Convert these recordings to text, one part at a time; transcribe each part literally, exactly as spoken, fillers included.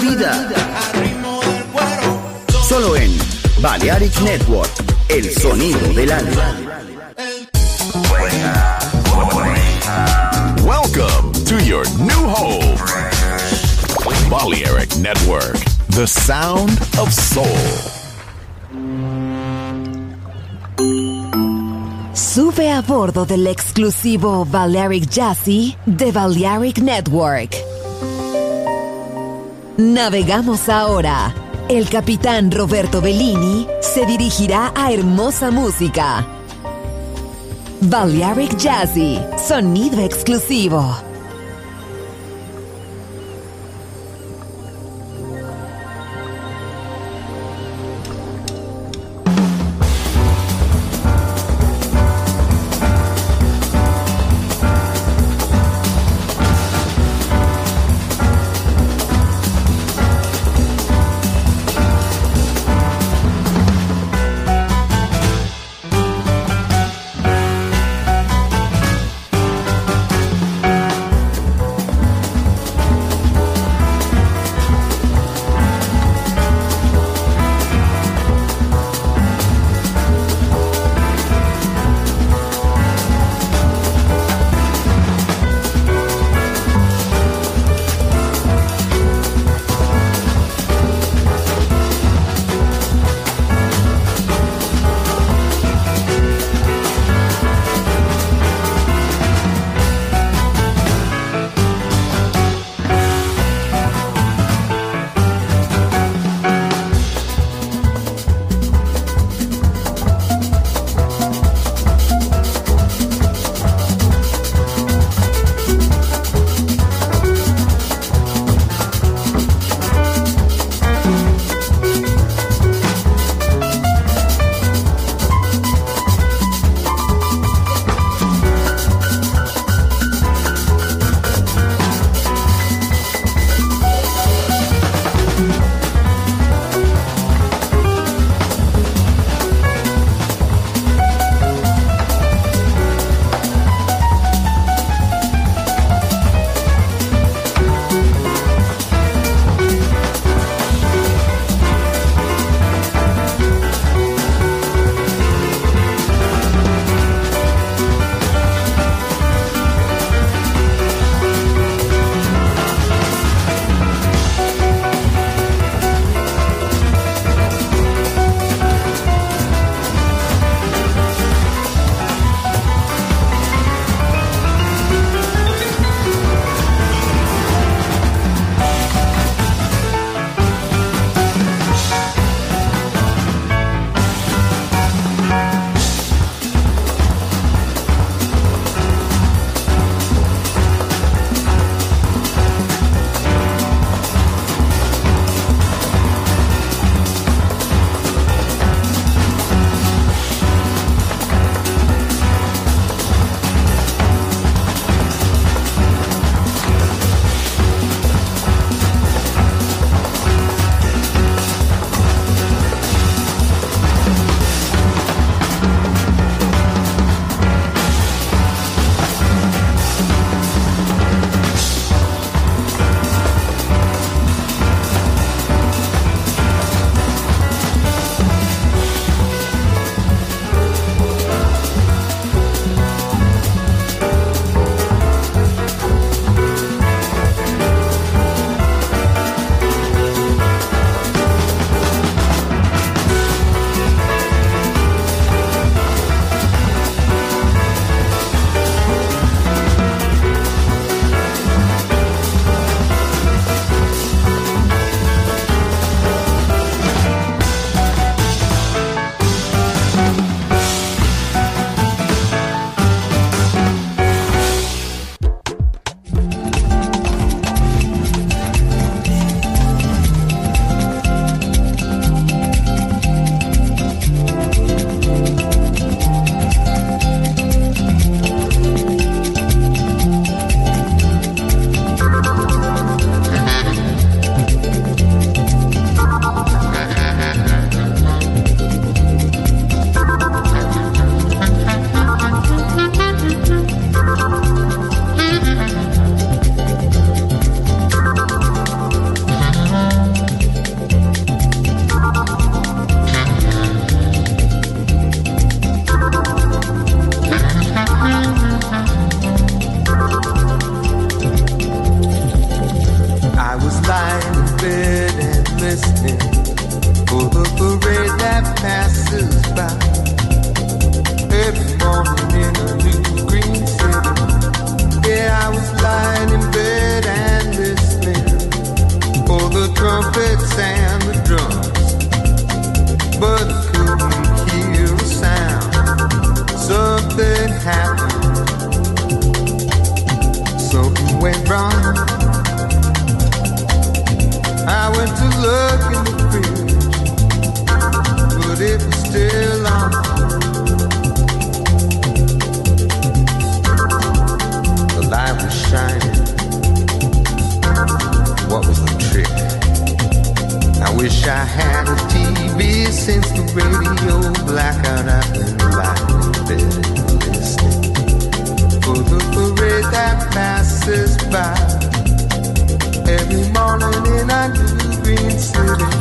vida. Solo en Balearic Network, el sonido del alma. Welcome to your new home. Balearic Network, the sound of soul. Sube a bordo del exclusivo Balearic Jazzy de Balearic Network. Navegamos ahora. El capitán Roberto Bellini se dirigirá a hermosa música. Balearic Jazzy, sonido exclusivo. still on. The light was shining. What was the trick? I wish I had a T V since the radio blackout. I've been lying in bed and listening for the parade that passes by every morning in our new green city.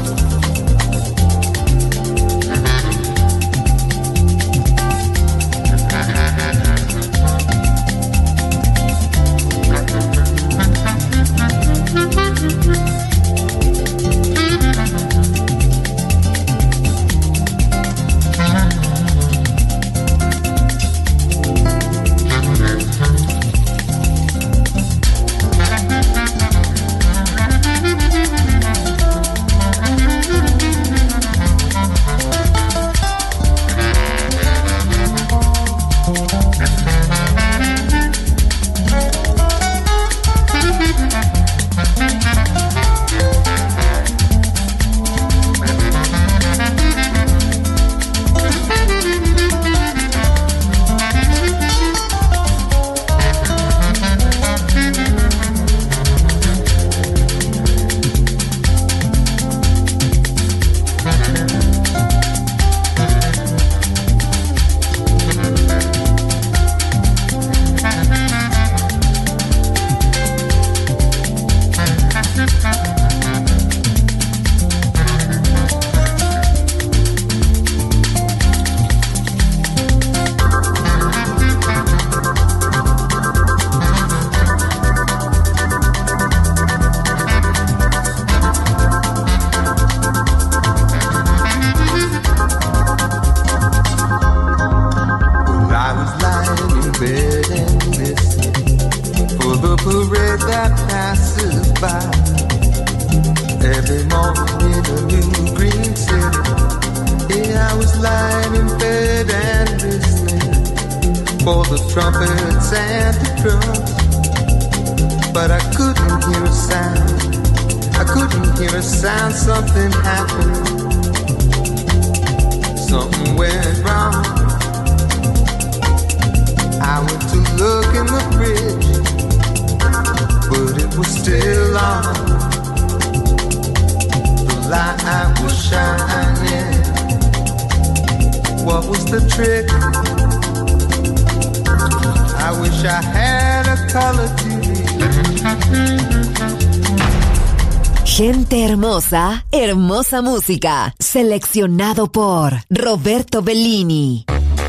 Gente hermosa, hermosa música. Seleccionado por Roberto Bellini.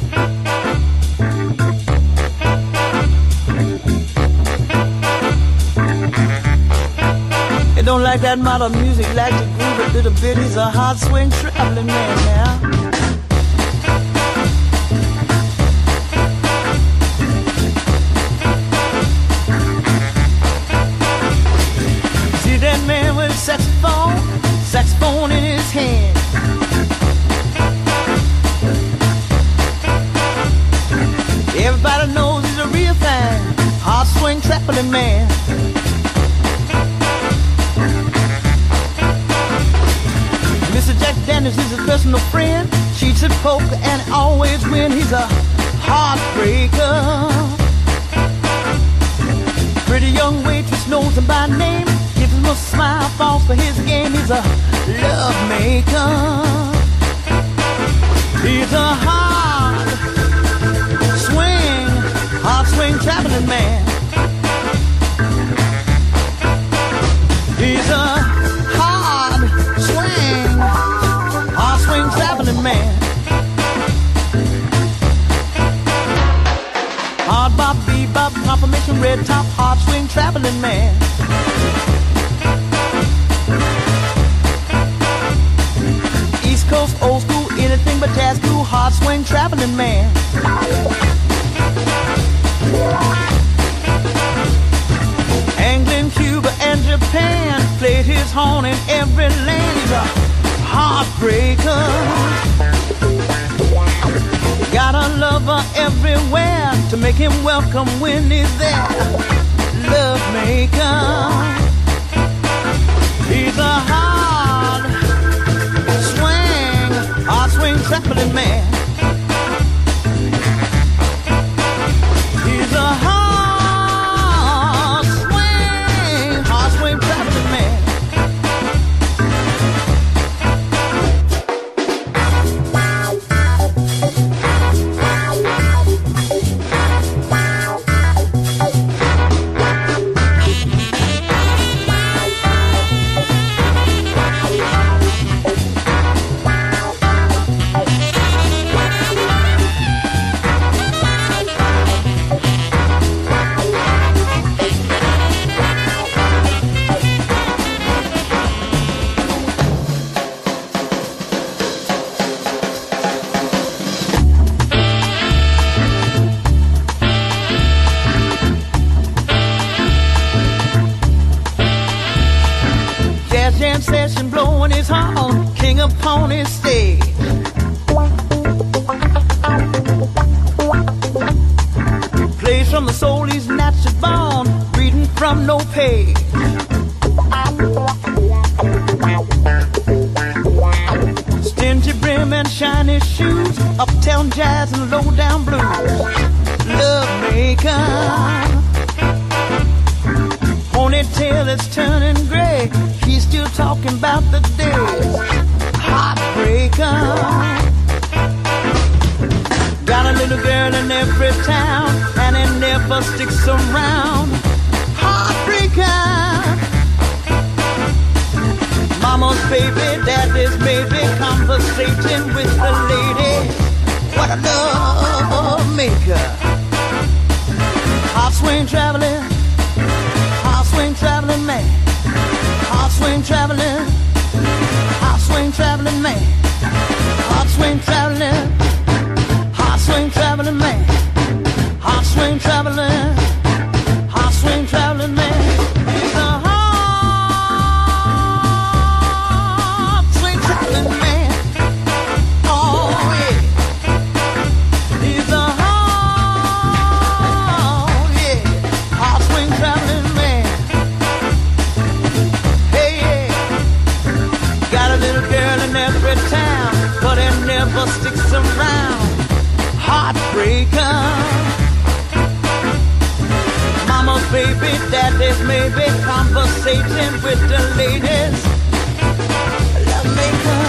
It don't like that modern music, like the groove a little bit. He's a hard swing traveling man now. Man with a saxophone, saxophone in his hand. Everybody knows he's a real fan, hard swing traveling man. Mister Jack Daniels, he's a personal friend, cheats at poker and always win. He's a heartbreaker. Pretty young waitress knows him by name, gives him a smile, falls for his game. He's a love maker. He's a hard swing, hard swing traveling man. He's a hard swing, hard swing traveling man. Hard bop, bebop, confirmation, red top, hard swing traveling man. East Coast, old school, anything but jazz, cool, hard swing traveling man. England, Cuba, and Japan played his horn in every land. He's a heartbreaker. Got a lover everywhere to make him welcome when he's there. Love maker. He's a hard swing, hard swing track traveling man. He's a hard swing, hard swing traveling man. Session blowing his horn, king upon his stage. Plays from the soul he's naturally born, reading from no page. Stingy brim and shiny shoes, uptown jazz and low down blues. Love maker, ponytail is turning gray. He's still talking about the days. Heartbreaker. Got a little girl in every town, and it never sticks around. Heartbreaker. Mama's baby, daddy's maybe, conversating with the lady. What a love maker. Hot swing traveling, hot swing traveling man. Hot swing traveling, hot swing traveling man. Hot swing traveling, hot swing traveling man. Hot swing traveling, hot swing traveling man. He's a hot swing traveling man. Oh yeah. He's a hot, yeah, hot swing traveling man. Every town, but it never sticks around. Heartbreaker. Mama's baby, daddy's maybe, conversating with the ladies. Love maker.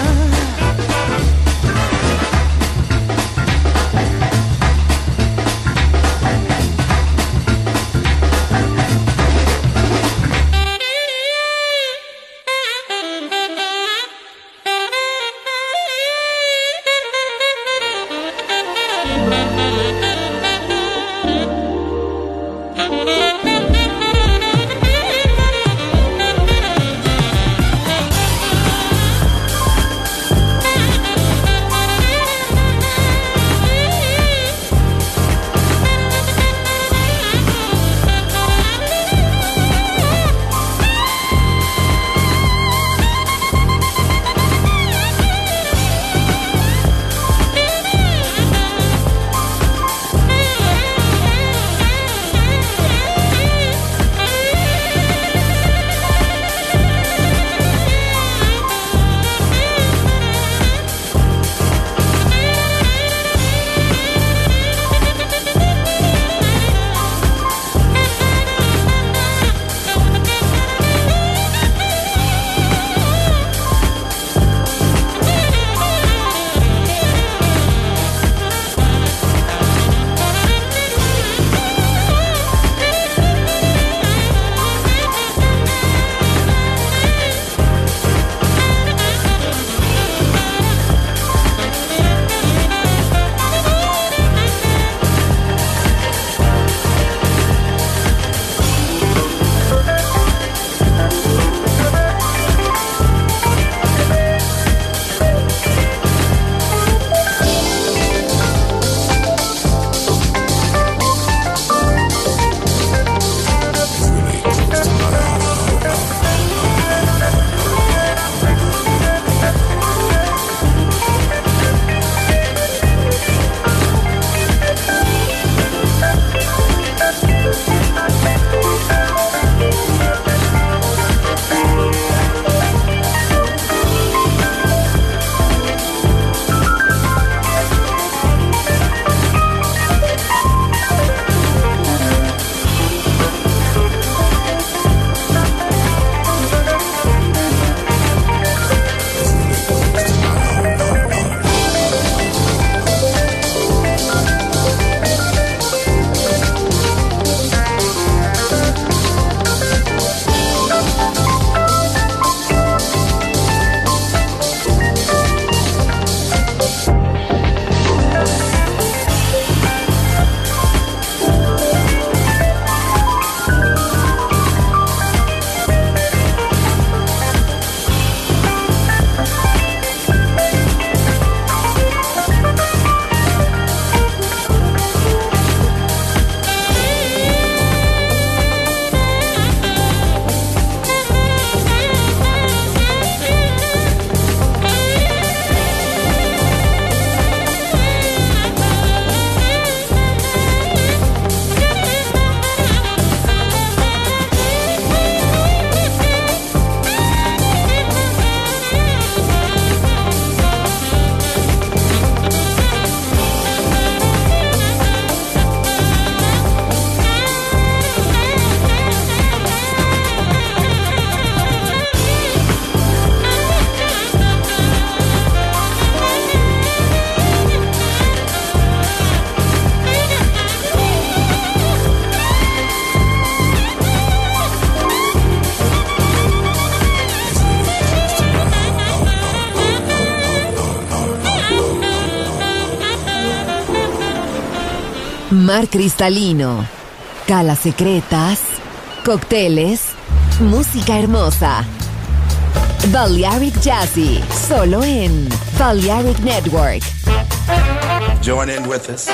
mar cristalino, calas secretas, cócteles, música hermosa. Balearic Jazzy, solo en Balearic Network. Join in with us.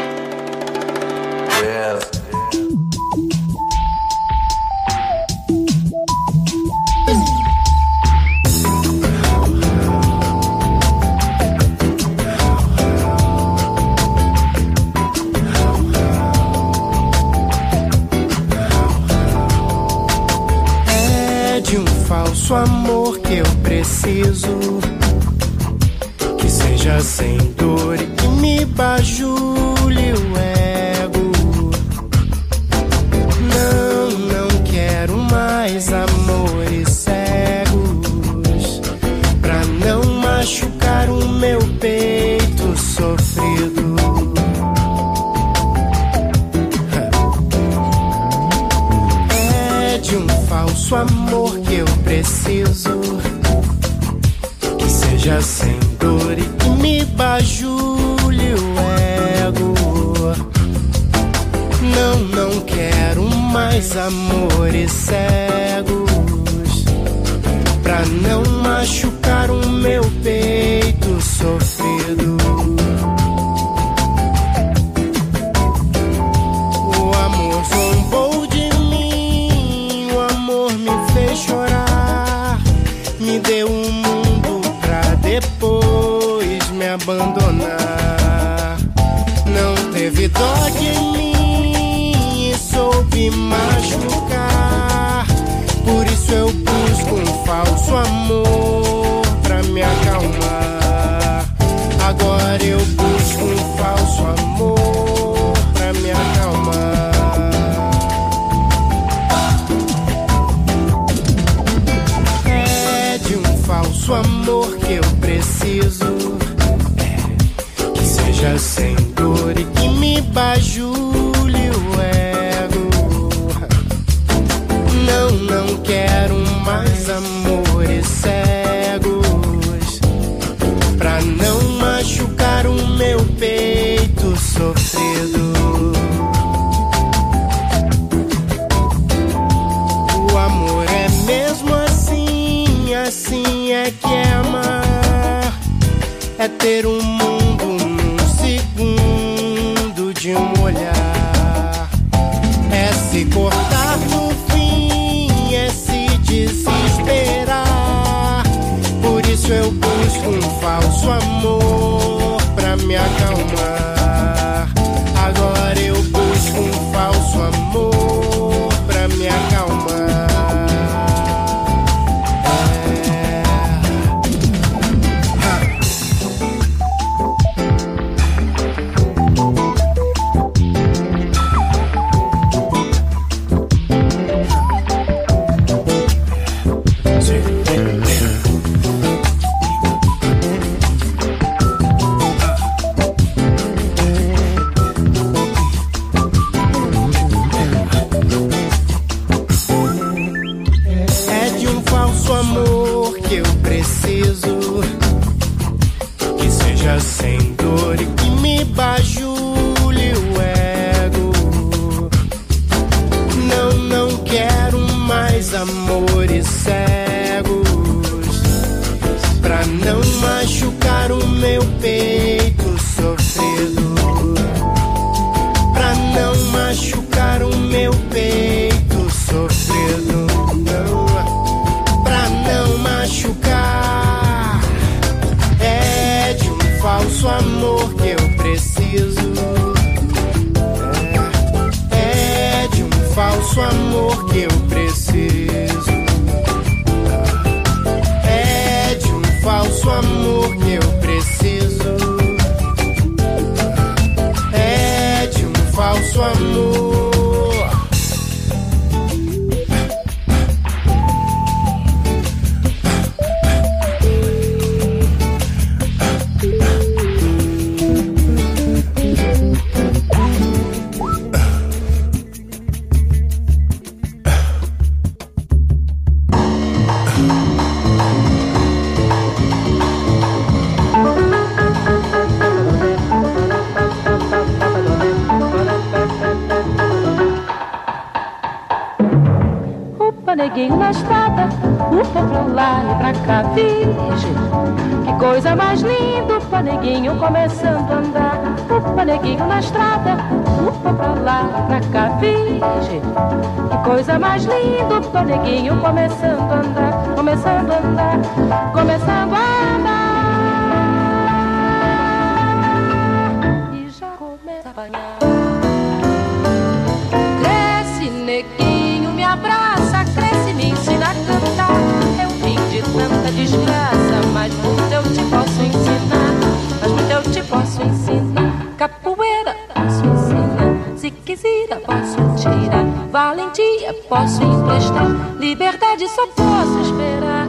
Yeah. Falso amor que eu preciso, que seja sem dor e que me bajule o ego. Não, não quero mais amores cegos, pra não machucar o meu peito sofrido. É de um falso amor que eu preciso, que seja sem dor e que me bajule o ego. Não, não quero mais amores cegos, pra não machucar o meu peito sofrido. O amor zombou de mim, o amor me fez chorar, me deu um mundo pra depois me abandonar. Não teve dó de mim e soube machucar, por isso eu busco um falso amor pra me acalmar. Agora eu busco um falso amor pra me acalmar. Falso amor que eu preciso, que seja sem dor e que me bajule o ego. Não, não quero mais amores cegos, pra não machucar o meu peito sofrido. O amor é mesmo assim, assim é que é amar, é ter um mundo num segundo de um olhar, é se cortar no fim, é se desesperar. Por isso eu busco um falso amor pra me acalmar. Agora eu busco um falso amor pra me acalmar. Sem dor e que me bajule o ego. Não, não quero mais amores cegos, pra não machucar o meu peito sofrido, pra não machucar o meu peito sofrido. Não, pra não machucar. É de um falso amor que eu preciso, é, é de um falso amor que eu preciso, é de um falso amor que eu preciso, é de um falso amor. neguinho na estrada, upa pra lá e pra cá, virgem. Que coisa mais linda, upa neguinho começando a andar. Upa neguinho na estrada, upa pra lá e pra cá, virgem. Que coisa mais linda, upa neguinho começando a andar. Começando a andar, começando a andar. E já começa a apanhar. Cresce neguinho, me abraça, cresce, me ensina a cantar. É o fim de tanta desgraça, mas muito eu te posso ensinar. Mas muito eu te posso ensinar. Capoeira posso ensinar, se quiser posso tirar. Valentia posso emprestar, liberdade só posso esperar.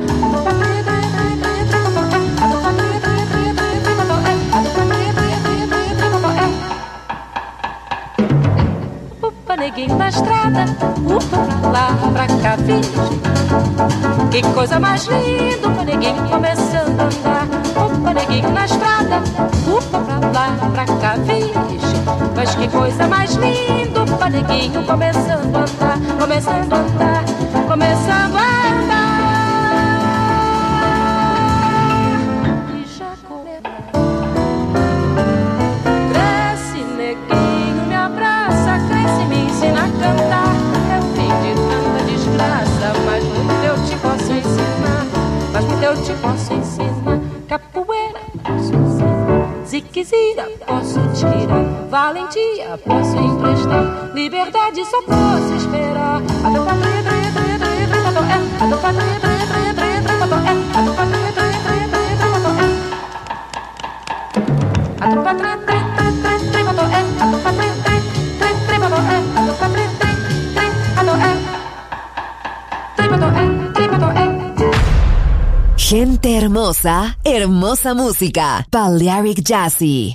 Upa neguinho na estrada, upa pra lá, pra cá, virgem. Que coisa mais linda, upa neguinho começando a andar. Upa neguinho na estrada, upa pra lá, pra cá, virgem. Mas que coisa mais linda, upa neguinho começando a andar. Começando a andar, começando a andar. E já começa. Cresce neguinho, me abraça, cresce, me ensina a cantar. É o fim de tanta desgraça, mas muito eu te posso ensinar. Mas muito eu te posso ensinar. Capoeira posso ensinar, ziquezira posso tirar. Valentia posso emprestar, liberdade só posso esperar. A do patria, tria, tria, tria, tria, pato é. A do patria, tria, tria, tria, tria, pato é. A do patria, tria, tria, tria, tria, pato é. A do patria, tria, tria, tria, tria, pato é. A do patria, tria, tria, tria, pato é. A do patria, tria, tria, pato é. Tria, pato é, tria, pato é. Gente hermosa, hermosa música. Balearic Jazzy.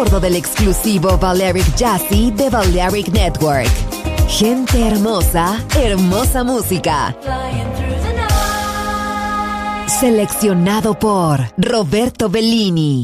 bordo del exclusivo Balearic Jazzy de Balearic Network. Gente hermosa, hermosa música. Seleccionado por Roberto Bellini.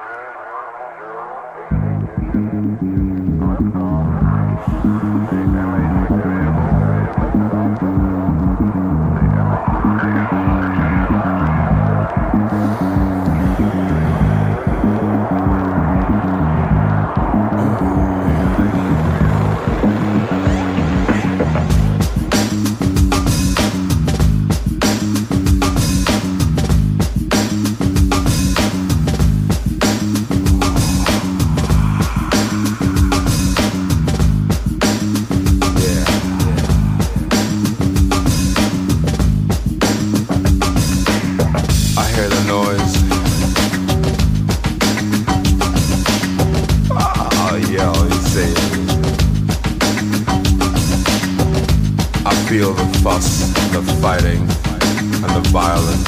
Feel the fuss, the fighting, and the violence.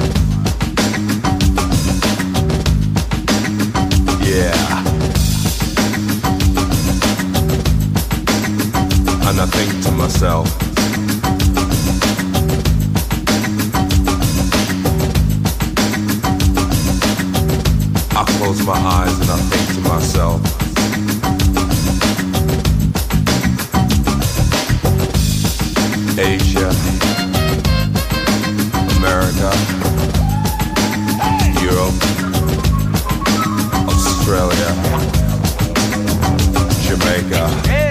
Yeah. And I think to myself, I close my eyes and I think to myself, Asia, America, Europe, Australia, Jamaica,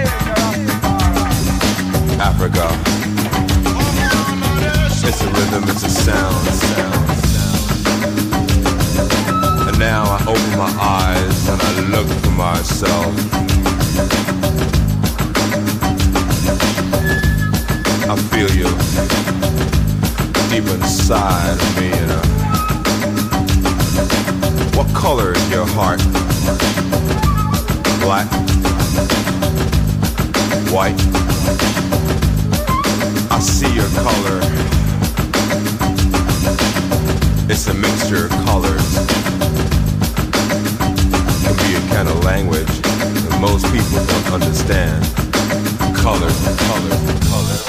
Africa. It's a rhythm, it's a sound. And now I open my eyes and I look for myself. I feel you deep inside of me, you know. What color is your heart? Black? White? I see your color. It's a mixture of colors. It can be a kind of language that most people don't understand. Colors, colors, colors.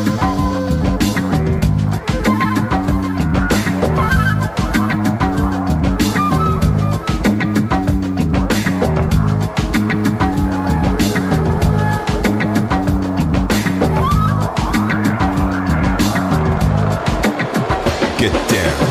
Get down.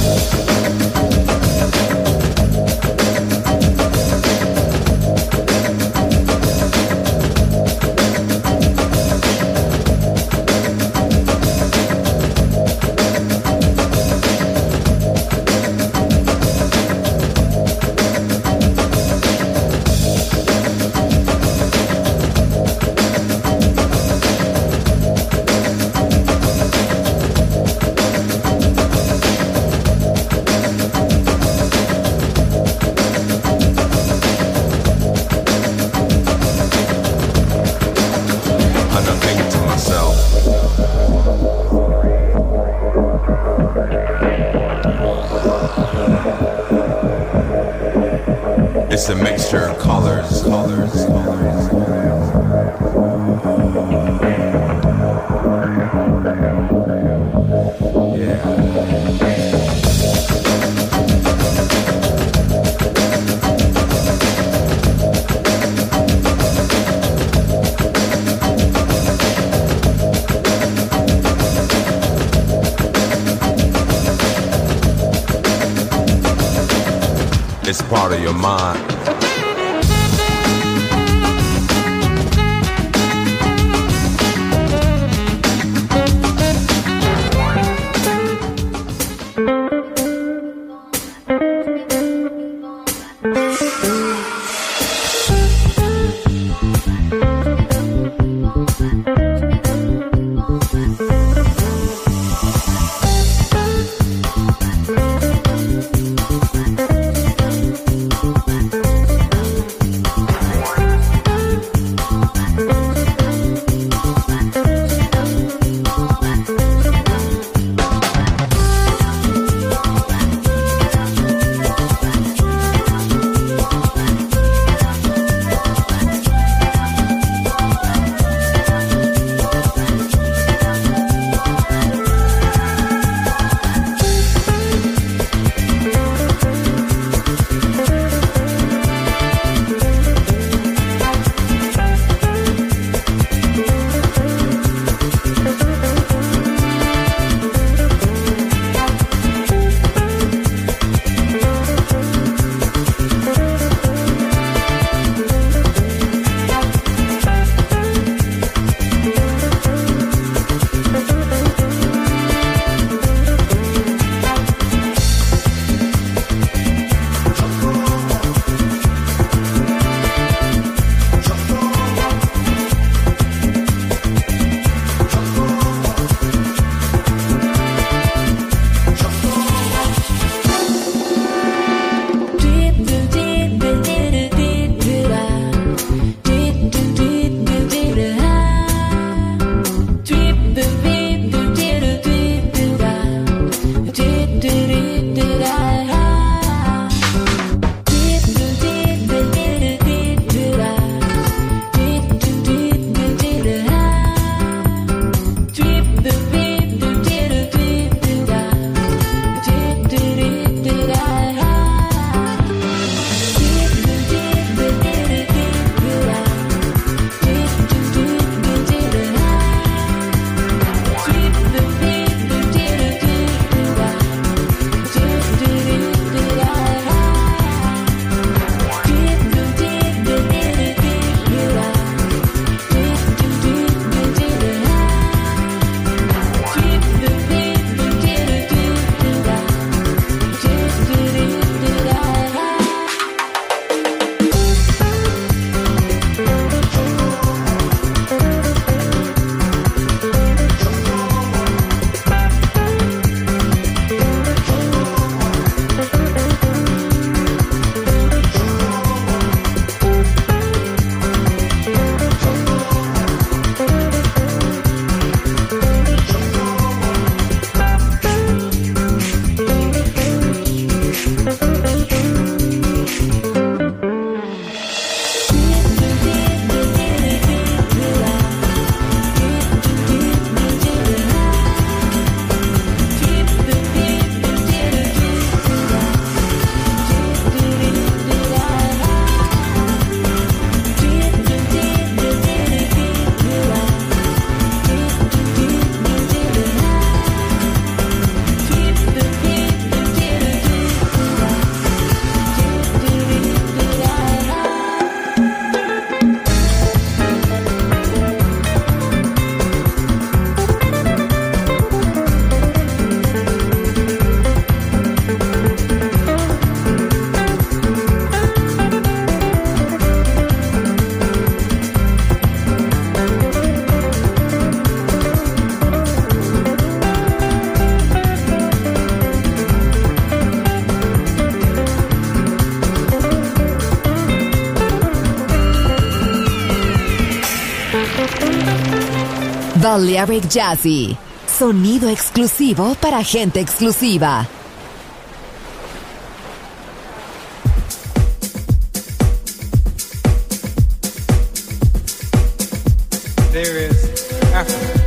It's a mixture of colors, colors, colors. Yeah. It's part of your mind. Balearic Jazzy, sonido exclusivo para gente exclusiva. There is Africa.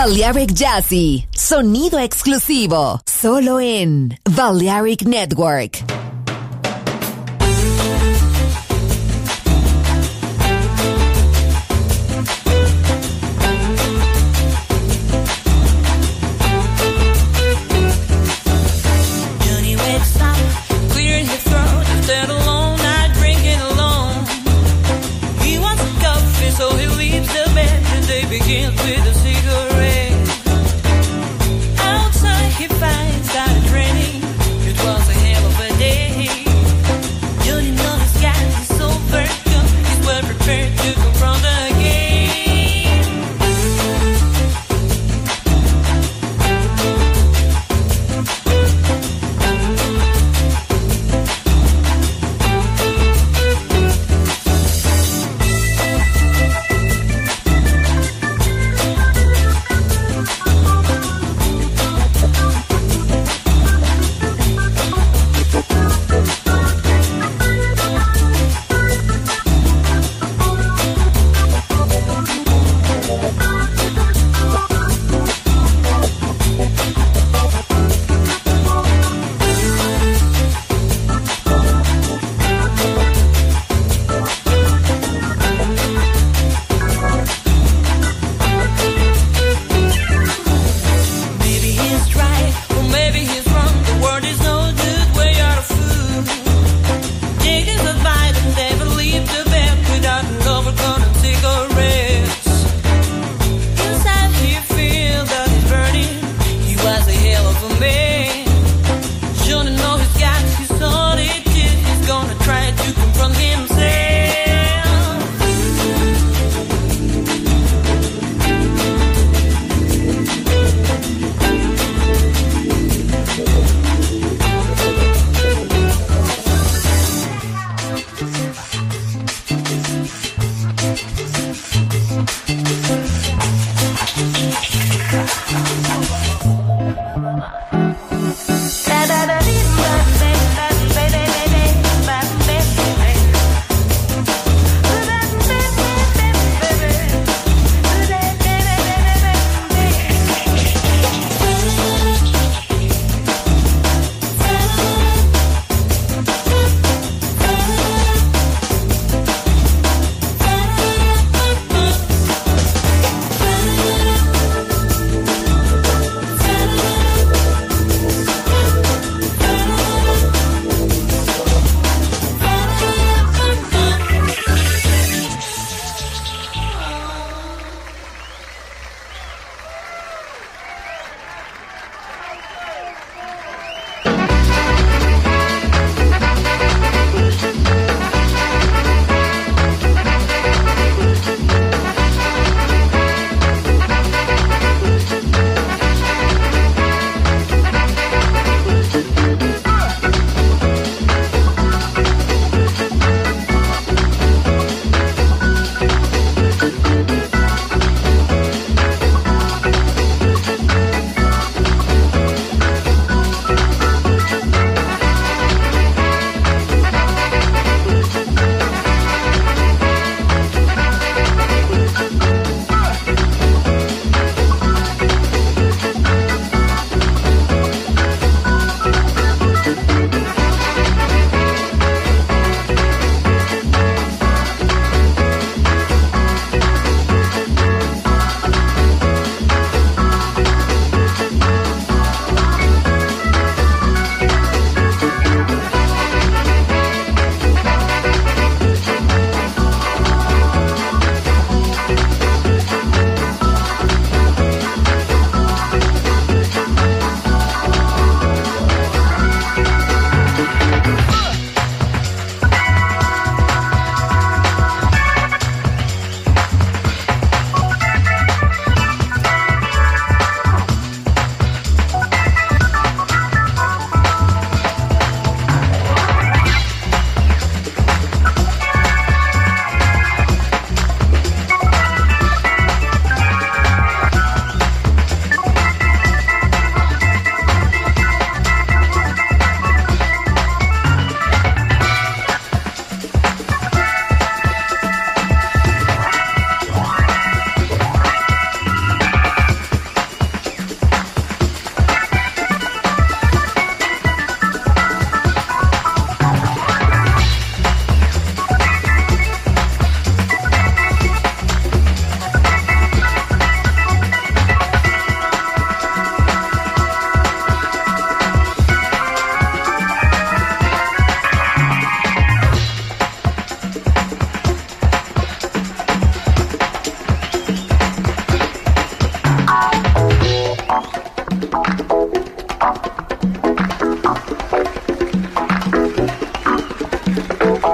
Balearic Jazzy, sonido exclusivo, solo en Balearic Network. Begins with a cigarette. Outside he finds out it's raining. It was a hell of a day.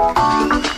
Thank